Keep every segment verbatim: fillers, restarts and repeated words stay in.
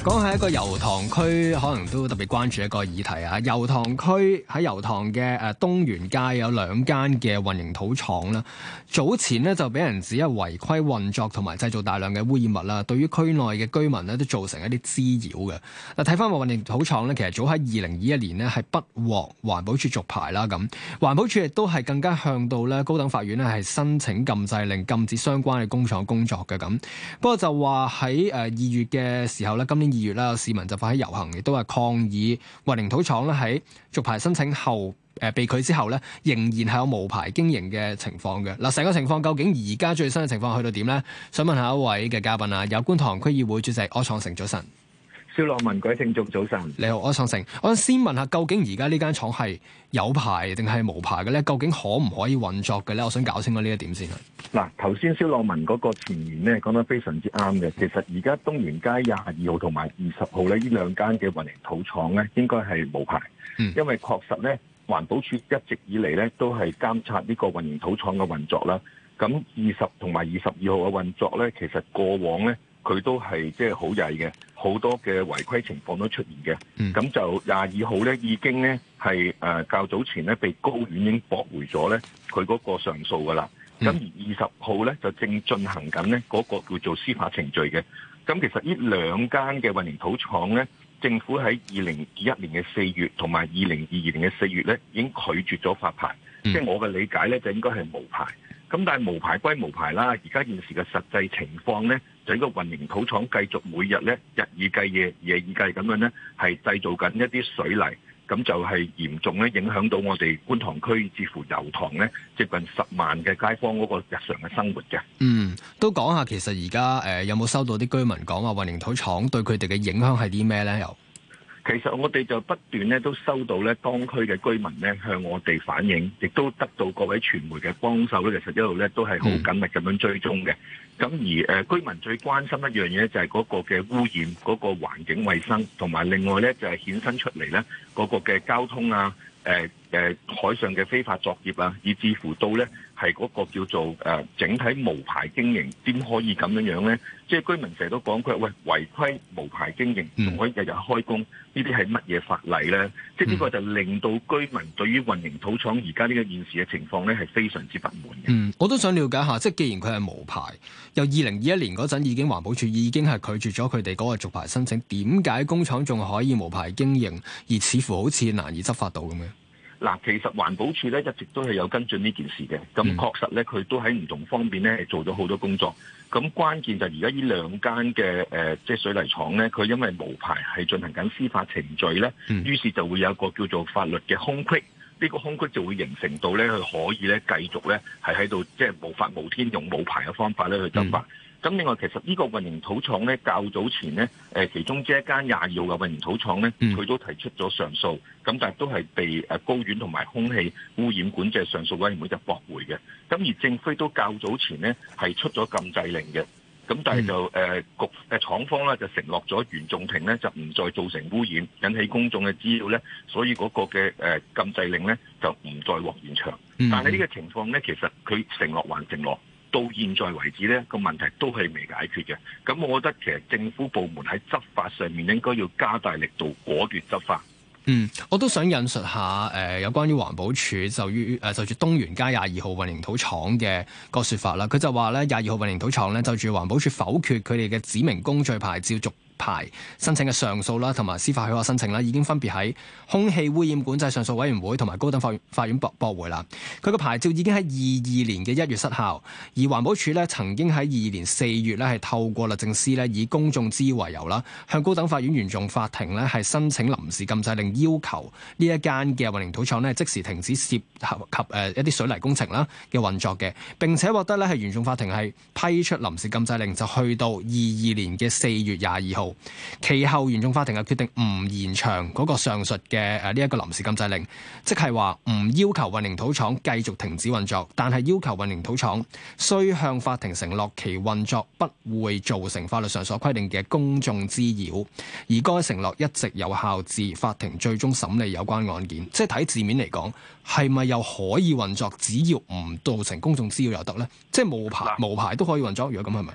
講係一個油塘區，可能都特別關注一個議題啊！油塘區喺油塘嘅誒東源街有兩間嘅混凝土廠啦，早前呢就俾人指係違規運作同埋製造大量嘅污染物啦，對於區內嘅居民呢都造成一啲滋擾嘅。嗱，睇翻個混凝土廠呢，其實早喺二零二一年呢係不獲環保署續牌啦，咁環保署亦都係更加向到咧高等法院呢係申請禁制令，禁止相關嘅工廠工作嘅咁。不過就話喺誒二月嘅時候咧，今年二月啦，有市民就發起遊行，亦都係抗議混凝土廠咧喺續牌申請後誒、呃、被拒之後咧，仍然係有無牌經營嘅情況嘅。嗱，成個情況究竟而家最新嘅情況去到點咧？想問下一位嘅嘉賓啊，有觀塘區議會主席柯創盛，早晨。 蕭樂文，各位聽眾早晨。 你好，柯創盛。我想先問下，究竟而家呢間廠係有牌定係無牌嘅咧？究竟可唔可以運作嘅咧？我想搞清楚呢一點先。 嗱，頭先蕭樂文嗰個前言咧講得非常之啱嘅。其實而家東源街廿二號同埋二十號咧，呢兩間嘅混凝土廠咧，應該係無牌。嗯，因為確實咧，環保署一直以嚟咧都係監察呢個混凝土廠嘅運作啦。咁二十同埋二十二號嘅運作咧，其實過往咧佢都係即係好曳嘅。好多嘅違規情況都出現嘅，咁、嗯、就廿二號咧已經咧係誒較早前咧被高院已經駁回咗咧佢嗰個上訴噶啦，咁、嗯、而二十號咧就正進行緊咧嗰個叫做司法程序嘅。咁其實呢兩間嘅混凝土廠咧，政府喺二零二一年嘅四月同埋二零二二年嘅四月咧已經拒絕咗發牌，即係、嗯、我嘅理解咧就應該係無牌。咁但係無牌歸無牌啦，而家現時嘅實際情況咧，就呢個混凝土廠繼續每日咧日以繼夜、夜以繼咁樣咧，係製造緊一啲水泥，咁就係嚴重咧影響到我哋觀塘區至乎油塘咧接近十萬嘅街坊嗰個日常嘅生活嘅。嗯， 都講下其實而家誒有冇收到啲居民講話混凝土廠對佢哋嘅影響係啲咩咧？又？ 其實我哋就不斷咧都收到咧當區嘅居民咧向我哋反映，亦都得到各位傳媒嘅幫手咧，其實一路咧都係好緊密咁樣追蹤嘅。咁、嗯、而誒、呃、居民最關心一樣嘢就係嗰個嘅污染、嗰、嗰個環境衛生，同埋另外咧就係衍生出嚟咧嗰個嘅交通啊、誒、呃、誒、呃、海上嘅非法作業啊，以至乎到咧係嗰個叫做誒、呃、整體無牌經營，點可以咁樣樣咧？即係居民成日都講佢話喂，違規無牌經營，仲可以日日開工，呢啲係乜嘢法例咧？即係呢個就令到居民對於混凝土廠而家呢個現時嘅情況咧係非常之不滿嘅。 嗯，我都想了解下，即係既然佢係無牌，由二零二一年嗰陣已經環保署已經係拒絕咗佢哋嗰個續牌申請，點解工廠仲可以無牌經營，而似乎好似難以執法到咁嘅？ 嗱，其實環保署咧一直都係有跟進呢件事嘅，咁確實咧佢都喺唔同方面咧係做咗好多工作。咁關鍵就係而家呢兩間嘅誒即係水泥廠咧，佢因為無牌係進行緊司法程序咧，嗯、於是就會有一個叫做法律嘅空隙，呢、呢個空隙就會形成到咧佢可以咧繼續咧係喺度即係無法無天用冇牌嘅方法咧去執法。咁、嗯、另外其實呢個混凝土廠咧較早前咧誒其中之一間廿二號嘅混凝土廠咧，佢、嗯、都提出咗上訴，咁但係都係被誒高院同埋空氣污染管制上訴委員會就駁回嘅。咁而政府都較早前咧係出咗禁制令嘅，咁但係就誒、呃、局誒廠方咧就承諾咗原訟庭咧就唔再造成污染，引起公眾嘅滋擾咧，所以嗰個嘅誒禁制令咧就唔再獲延長。嗯、但係呢個情況咧，其實佢承諾還承諾。到現在為止呢個問題都係未解決嘅。咁我覺得其實政府部門喺執法上面應該要加大力度，果斷執法。 嗯，我都想引述下誒、呃、有關於環保署就於誒、呃、就住東源街廿二號混凝土廠嘅個說法啦。佢就話咧廿二號混凝土廠咧就住環保署否決佢哋嘅指明工序牌照續牌申請嘅上訴啦，同埋司法許可申請啦，已經分別喺空氣污染管制上訴委員會同埋高等法院法院駁駁回啦。佢個牌照已經喺二二年嘅一月失效，而環保署咧曾經喺二二年四月咧係透過律政司咧以公眾滋擾為由啦，向高等法院原訟法庭咧係申請臨時禁制令，要求呢一間嘅混凝土廠咧即時停止涉及誒一啲水泥工程啦嘅運作嘅，並且獲得咧係原訟法庭係批出臨時禁制令，就去到二二年嘅四月廿二號。其後原訟法庭嘅決定唔延長嗰個上述嘅誒呢一個臨時禁制令，即係話唔要求混凝土廠繼續停止運作，但係要求混凝土廠需向法庭承諾其運作不會造成法律上所規定嘅公眾滋擾，而該承諾一直有效至法庭最終審理有關案件。即係睇字面嚟講，係咪又可以運作？只要唔造成公眾滋擾又得呢？即係無牌無牌都可以運作，如果咁係咪？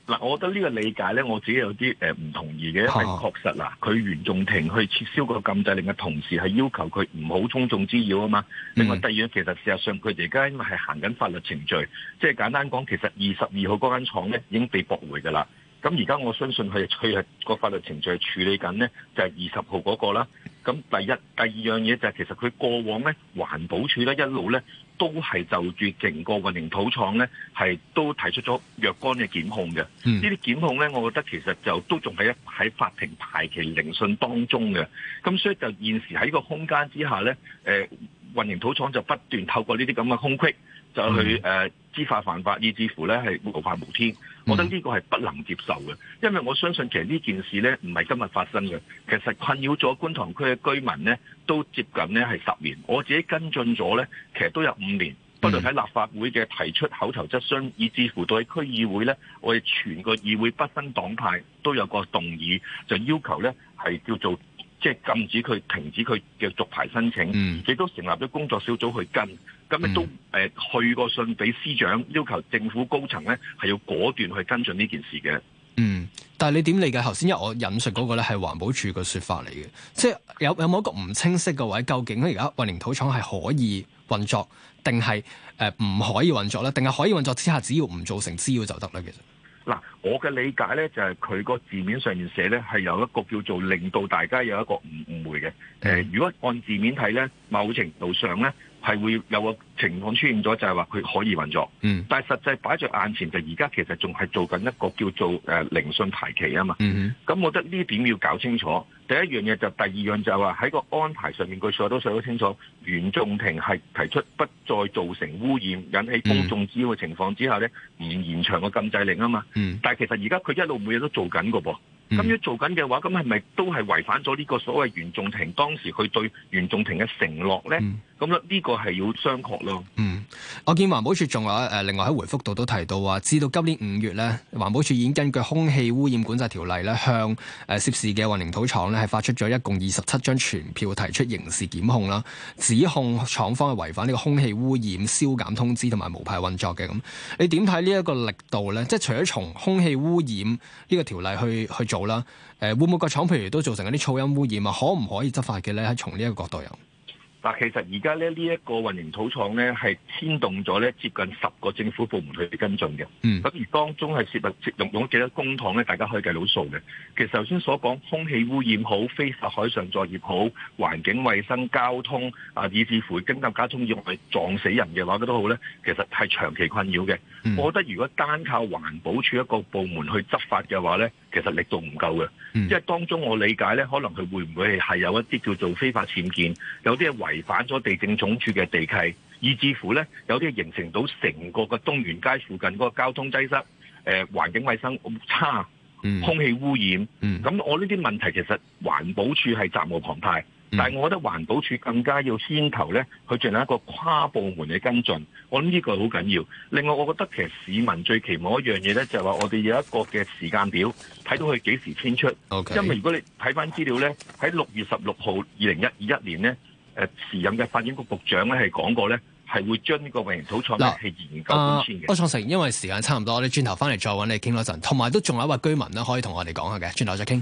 嗱，我覺得呢個理解咧，我自己有啲誒唔同意嘅，因為確實嗱，佢原訟庭去撤銷個禁制令嘅同時，係要求佢唔好充眾滋擾啊嘛。另外第二樣，其實事實上佢哋而家因為係行緊法律程序，即係簡單講，其實二十二號嗰間廠咧已經被駁回㗎啦。咁而家我相信佢佢係個法律程序係處理緊咧，就係二十號嗰個啦。咁第一、第二樣嘢就係其實佢過往咧，環保署咧一路咧都係就住成個混凝土廠咧係都提出咗若干嘅檢控嘅。嗯、呢啲檢控咧，我覺得其實就都仲係喺法庭排期聆訊當中嘅。咁所以就現時喺呢個空間之下咧，誒、呃、混凝土廠就不斷透過呢啲咁嘅空隙就去誒、呃、知法犯法，以至乎咧係無法無天。我覺得呢個係不能接受嘅，因為我相信其實呢件事咧唔係今日發生嘅，其實困擾咗觀塘區嘅居民咧都接近咧係十年，我自己跟進咗咧，其實都有五年，不論喺立法會嘅提出口頭質詢，以至乎到喺區議會咧，我哋全個議會不分黨派都有個動議，就要求咧係叫做即係、就是、禁止佢停止佢嘅續牌申請，亦、嗯、都成立咗工作小組去跟。咁亦都誒、呃、去個信俾司長，要求政府高層咧係要果斷去跟進呢件事嘅。 嗯，但係你點理解頭先？因為我引述嗰個咧係環保署嘅説法嚟嘅，即係有有冇一個唔清晰嘅位？究竟而家混凝土廠係可以運作，定係誒唔可以運作咧？定係可以運作之下，只要唔造成滋擾就得咧？其實嗱，我嘅理解咧就係佢個字面上面寫咧係有一個叫做令到大家有一個誤誤會嘅。誒、呃，如果按字面睇咧，某程度上咧，係會有個情況出現咗，就係話佢可以運作，嗯，但係實際擺在眼前就而家其實仲係做緊一個叫做誒、呃、聆訊排期啊嘛，咁、嗯、我覺得呢點要搞清楚。第一樣嘢就第二樣就係話喺個安排上面，佢所有都寫得清楚，原訟庭係提出不再造成污染、引起公眾滋擾嘅情況之下咧，唔延長個禁制令啊嘛，嗯、但係其實而家佢一路每日都做緊個噃。咁要做緊嘅話，咁係咪都係違反咗呢個所謂原訟庭當時佢對原訟庭嘅承諾咧？咁咧呢個係要商榷咯。嗯， 我見環保署仲有誒，另外喺回覆度都提到話，至到今年五月咧，環保署已經根據空氣污染管制條例咧，向誒涉事嘅混凝土廠咧係發出咗一共二十七張傳票，提出刑事檢控啦，指控廠方係違反呢個空氣污染消減通知同埋無牌運作嘅。咁你點睇呢一個力度咧？即係除咗從空氣污染呢個條例去去做啦，誒會唔會個廠譬如都造成一啲噪音污染啊？可唔可以執法嘅咧？喺從呢一個角度有？ 嗱，其實而家咧呢一個混凝土廠咧係牽動咗咧接近十個政府部門去跟進嘅。嗯，咁而當中係涉及用用咗幾多公帑咧？大家可以計到數嘅。其實頭先所講空氣污染好、非法海上作業好、環境衛生、交通啊，以至乎經濟交通意外撞死人嘅話，都好咧，其實係長期困擾嘅。嗯、我覺得如果單靠環保署一個部門去執法嘅話咧，其實力度唔夠嘅。嗯、因為當中我理解咧，可能佢會唔會係有一啲叫做非法僭建，有啲係違反咗地政總署嘅地契，以至乎咧有啲形成到成個嘅東源街附近嗰個交通擠塞、誒、呃、環境衛生差、嗯、空氣污染。咁、嗯、我呢啲問題其實環保署係責無旁貸。但係我覺得環保署更加要牽頭咧，去進行一個跨部門嘅跟進。我諗呢個好緊要。另外，我覺得其實市民最期望一樣嘢咧，就係話我哋有一個嘅時間表，睇到佢幾時遷出。Okay. 因為如果你睇翻資料咧，喺六月十六號二零一二一年咧，誒時任嘅發展局局長咧係講過咧，係會將呢個混凝土廠咧係研究搬遷嘅。 柯創盛，因為時間差唔多，我哋轉頭翻嚟再揾你傾多陣。同埋都仲有一位居民咧，可以同我哋講下嘅，轉頭再傾。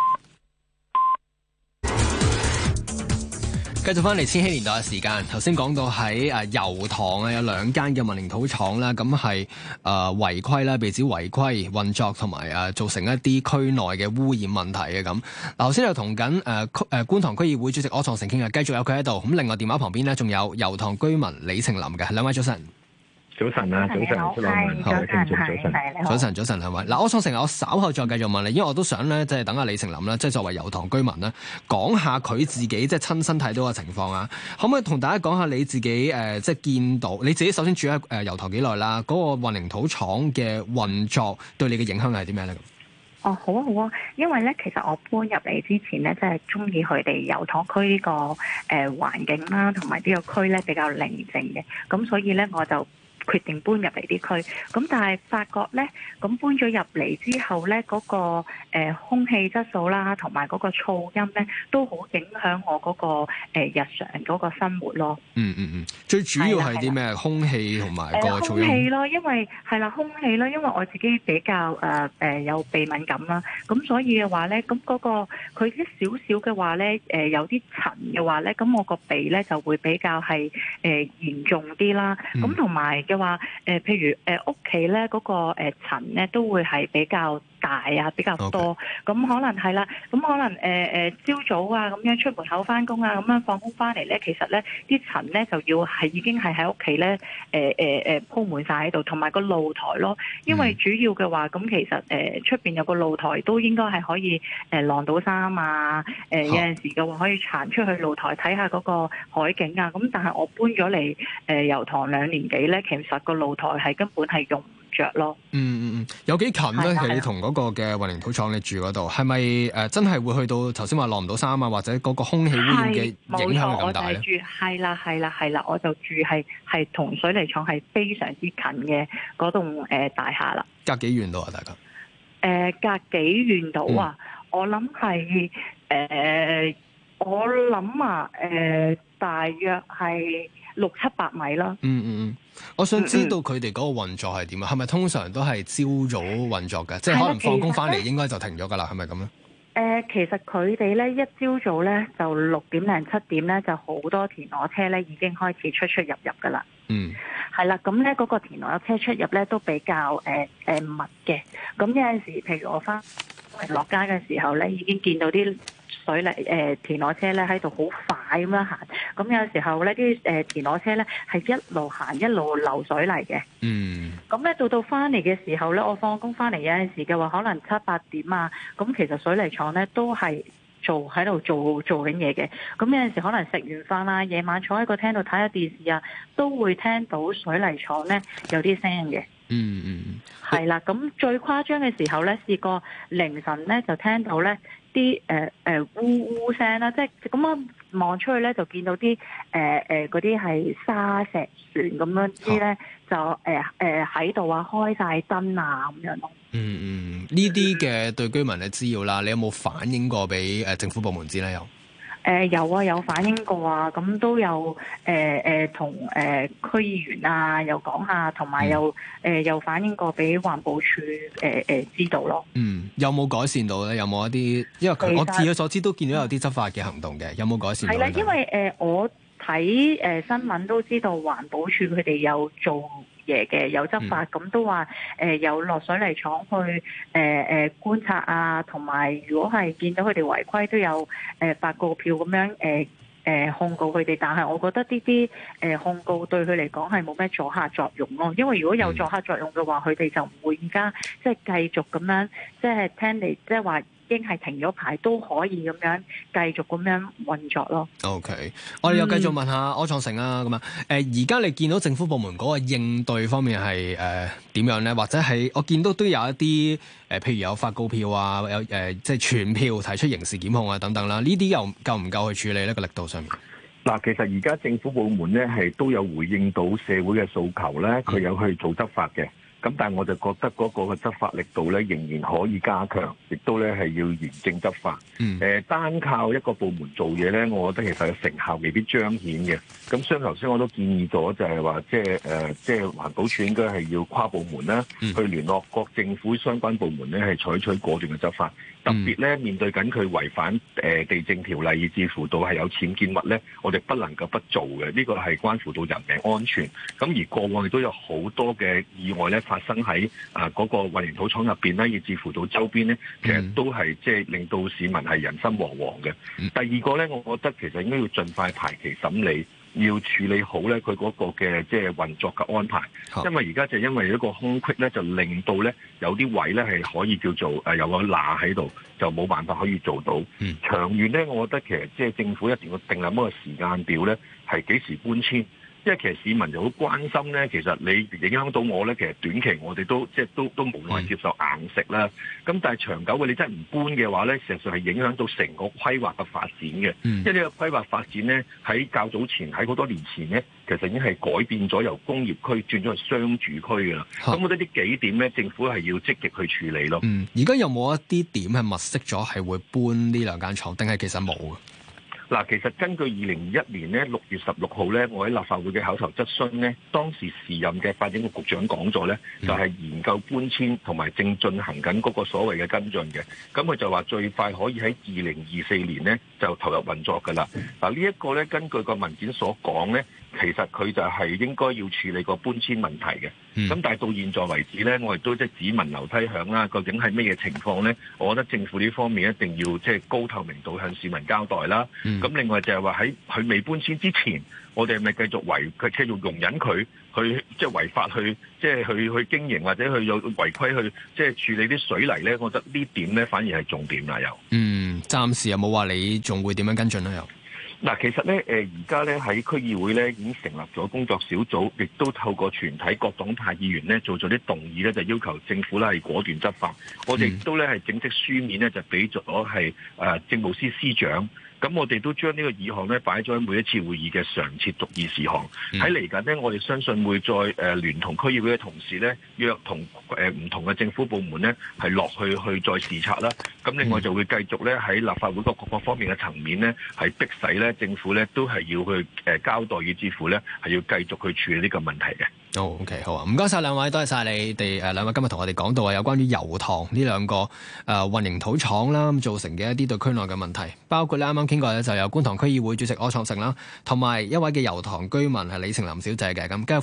繼續翻嚟千禧年代嘅時間，頭先講到喺誒油塘啊有兩間嘅混凝土廠啦，咁係誒違規啦，被指違規運作同埋誒造成一啲區內嘅污染問題嘅咁。嗱，頭先又同緊誒區誒觀塘區議會主席柯創盛傾嘅，繼續有佢喺度。咁另外電話旁邊咧仲有油塘居民李晴琳嘅，兩位早晨。 早晨啊，早晨， 好，早晨，早晨， 早晨，早晨，兩位。嗱，柯創盛，我稍後再繼續問你，因為我都想咧，即係等阿李晴琳啦，即係作為油塘居民咧，講下佢自己即係親身睇到嘅情況啊。可唔可以同大家講下你自己誒，即係見到你自己首先住喺誒油塘幾耐啦？嗰個混凝土廠嘅運作對你嘅影響係啲咩咧？ 哦，好啊，好啊，因為咧，其實我搬入嚟之前咧，即係中意佢哋油塘區呢個誒環境啦，同埋呢個區咧比較寧靜嘅，咁所以咧我就決定搬入嚟啲區。咁但係發覺咧，咁搬咗入嚟之後咧，嗰、嗰個、呃、空氣質素啦，同埋嗰個噪音咧，都好影響我嗰、嗰個、呃、日常嗰個生活咯。 嗯嗯嗯，最主要係啲咩？空氣同埋個噪音。空氣咯，因為係啦，空氣咯，因為我自己比較誒誒、呃、有鼻敏感啦，咁所以嘅話咧，咁嗰、嗰個佢啲少少嘅話咧，誒、呃、有啲塵嘅話咧，咁我個鼻咧就會比較係誒、呃、嚴重啲啦。咁同埋嘅話，誒、呃、譬如誒屋企咧嗰個誒塵咧都會係比較大啊，比較多。咁、okay. 可能係啦，咁可能誒誒朝早啊咁樣出門口翻工啊，咁樣放工翻嚟咧，其實咧啲塵咧就要係已經係喺屋企咧誒誒誒鋪滿晒喺度，同埋個露台咯。因為主要嘅話，咁其實誒出邊有個露台都應該係可以誒晾到衫啊。誒、呃、有陣時嘅話可以行出去露台睇下嗰個海景啊。咁但係我搬咗嚟誒油塘兩年幾咧，其實個露台係根本係用唔着咯。 嗯嗯嗯，有幾近咧？其實你同嗰個嘅混凝土廠你住嗰度，係咪誒真係會去到頭先話晾唔到衫啊，或者嗰個空氣污染嘅影響咁大咧？ 係啦係啦係啦，我就住係係同水泥廠係非常之近嘅嗰棟誒大廈啦。 隔幾遠到啊？大家？誒、 呃，隔幾遠到啊？嗯、我諗係誒，我諗啊，誒、呃，大約係六七百米啦。 嗯嗯嗯，我想知道佢哋嗰個運作係點啊？係咪通常都係朝早運作嘅？即係可能放工翻嚟應該就停咗噶啦？係咪咁咧？誒、 呃，其實佢哋咧一朝早咧就六點零七點咧就好多田螺車咧已經開始出出入入噶啦。嗯。係啦，咁咧嗰個田螺車出入咧都比較誒誒、呃呃、密嘅。咁有陣時，譬如我翻落街嘅時候咧，已經見到啲水泥誒、呃、田螺車咧喺度好快咁樣行。咁有時候咧啲誒田螺車咧係一路行一路流水泥嘅。嗯。咁咧到到翻嚟嘅時候咧，我放工翻嚟有陣時嘅話，可能七八點啊。咁其實水泥廠咧都係做喺度做做緊嘢嘅，咁有陣時可能食完飯啦，夜晚坐喺個廳度睇下電視啊，都會聽到水泥廠咧有啲聲嘅。嗯嗯，係啦，咁最誇張嘅時候咧，試過凌晨咧就聽到咧啲誒誒嗚嗚聲啦，即係咁樣望出去咧就見到啲誒誒嗰啲係沙石船咁樣啲咧，就誒誒喺度啊開晒燈啊咁樣咯。嗯嗯，呢啲嘅對居民嘅滋擾啦，你有冇反映過俾誒政府部門知咧？有？ 誒、呃、有啊，有反映過啊，咁都有誒誒同誒區議員啊，又講下，同埋又誒、呃、又反映過俾環保署誒誒知道咯。 嗯，有冇改善到咧？有冇一啲？因為佢我據我所知都見到有啲執法嘅行動嘅，有冇改善到？ 係啦，因為誒、呃、我睇誒、呃、新聞都知道環保署佢哋有做嘢嘅，有執法，咁、嗯、都話誒、呃、有落水泥廠去誒誒、呃、觀察啊，同埋如果係見到佢哋違規，都有誒、呃、發告票咁樣誒誒、呃、控告佢哋。但係我覺得呢啲誒控告對佢嚟講係冇咩阻嚇作用咯，因為如果有阻嚇作用嘅話，佢、嗯、哋就唔會而家即係繼續咁樣即係聽你即係話。已經係停咗牌都可以咁樣繼續咁樣運作咯。 OK，我哋又繼續問下柯創盛啊，咁啊，誒而家你見到政府部門嗰個應對方面係誒點樣咧？或者係我見到都有一啲誒、呃，譬如有發告票啊，有誒、呃、即係傳票提出刑事檢控啊等等啦，呢啲又夠唔夠去處理呢個力度上面？ 嗱，其實而家政府部門咧係都有回應到社會嘅訴求咧，佢有去做執法嘅。咁但係我就覺得嗰個嘅執法力度咧仍然可以加強，亦都咧係要嚴正執法。嗯。誒、呃，單靠一個部門做嘢咧，我覺得其實成效未必彰顯嘅。咁所以頭先我都建議咗，就係話即係誒，即係環保署應該係要跨部門啦、嗯，去聯絡各政府相關部門咧，係採取果斷嘅執法。特別咧面對緊佢違反誒地政條例，以至乎到係有僭建物咧，我哋不能夠不做嘅。呢、這個係關乎到人命安全。咁而過往亦都有好多嘅意外咧發生喺啊嗰個混凝土廠入邊咧，以至乎到周邊咧，其實都係即係令到市民係人心惶惶嘅。第二個咧，我覺得其實應該要盡快排期審理。要處理好咧，佢嗰個嘅即係運作嘅安排，因為而家就因為一個空隙咧，就令到咧有啲位咧係可以叫做誒有個罅喺度，就冇辦法可以做到。嗯、長遠咧，我覺得其實即係政府一定要定立一個時間表咧，係幾時搬遷。 因為其實市民就好關心咧，其實你影響到我咧，其實短期我哋都即係都都無奈接受硬食啦。咁但係長久嘅你真係唔搬嘅話咧，事實上係影響到成個規劃嘅發展嘅。因為呢個規劃發展咧，喺較早前喺好多年前咧，其實已經係改變咗由工業區轉咗去商住區㗎啦。咁我覺得呢幾點咧，政府係要積極去處理咯。 嗯，而家有冇一啲點係物色咗係會搬呢兩間廠，定係其實冇嘅？ 嗱，其實根據二零二一年咧六月十六號咧，我喺立法會嘅口頭質詢咧，當時時任嘅發展局局長講咗咧，就係研究搬遷同埋正進行緊嗰個所謂嘅跟進嘅。咁佢就話最快可以喺二零二四年咧就投入運作㗎啦。嗱，呢一個咧根據個文件所講咧，其實佢就係應該要處理個搬遷問題嘅。咁、嗯、但係到現在為止咧，我亦都即係只聞樓梯響啦。究竟係咩嘢情況咧？我覺得政府呢方面一定要即係高透明度向市民交代啦。咁、嗯、另外就係話喺佢未搬遷之前，我哋係咪繼續違佢繼續容忍佢去即係違法去即係去去經營或者去有違規去即係處理啲水泥咧？我覺得呢點咧反而係重點啦。又嗯，暫時有冇話你仲會點樣跟進咧？又？ 嗱，其實咧，誒而家咧喺區議會咧已經成立咗工作小組，亦都透過全體各黨派議員咧做咗啲動議咧，就要求政府咧係果斷執法。我哋亦都咧係正式書面咧就俾咗係誒政務司司長。咁我哋都將呢個議項咧擺咗喺每一次會議嘅常設逐議事項。喺嚟緊呢，我哋相信會再誒、呃、聯同區議會嘅同事咧，約同誒唔同嘅政府部門咧係落去去再視察啦。咁另外就會繼續咧喺立法會各個方面嘅層面咧，係迫使咧政府咧都係要去誒交代，以至乎咧係要繼續去處理呢個問題嘅。 好、oh, OK， 好啊，唔該晒兩位，多謝晒你哋誒兩位今日同我哋講到啊，有關於油塘呢兩個誒、呃、混凝土廠啦，咁造成嘅一啲對區內嘅問題，包括咧啱啱傾過咧就有觀塘區議會主席柯創盛啦，同埋一位嘅油塘居民係李晴琳小姐嘅咁。